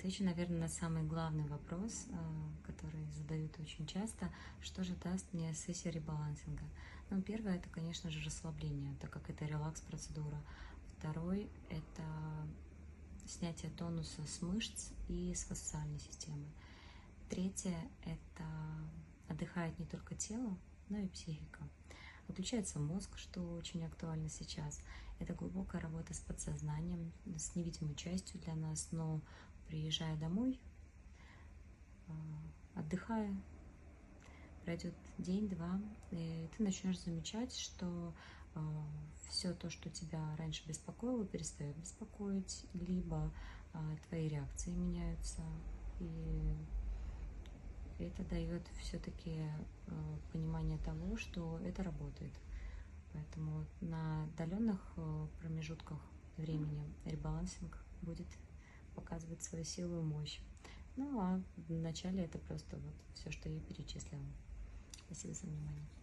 Отвечу, наверное, на самый главный вопрос, который задают очень часто. Что же даст мне сессия ребалансинга? Ну, первое, это, конечно же, расслабление, так как это релакс-процедура. Второй, это снятие тонуса с мышц и с фасциальной системы. Третье, это отдыхает не только тело, но и психика. Отключается мозг, что очень актуально сейчас. Это глубокая работа с подсознанием, с невидимой частью для нас, но приезжая домой, отдыхая, пройдет день-два, и ты начнешь замечать, что все то, что тебя раньше беспокоило, перестает беспокоить, либо твои реакции меняются, и это дает все-таки понимание того, что это работает. Поэтому на отдаленных промежутках времени ребалансинг будет показывать свою силу и мощь. Ну а в начале это просто вот все, что я перечислила. Спасибо за внимание.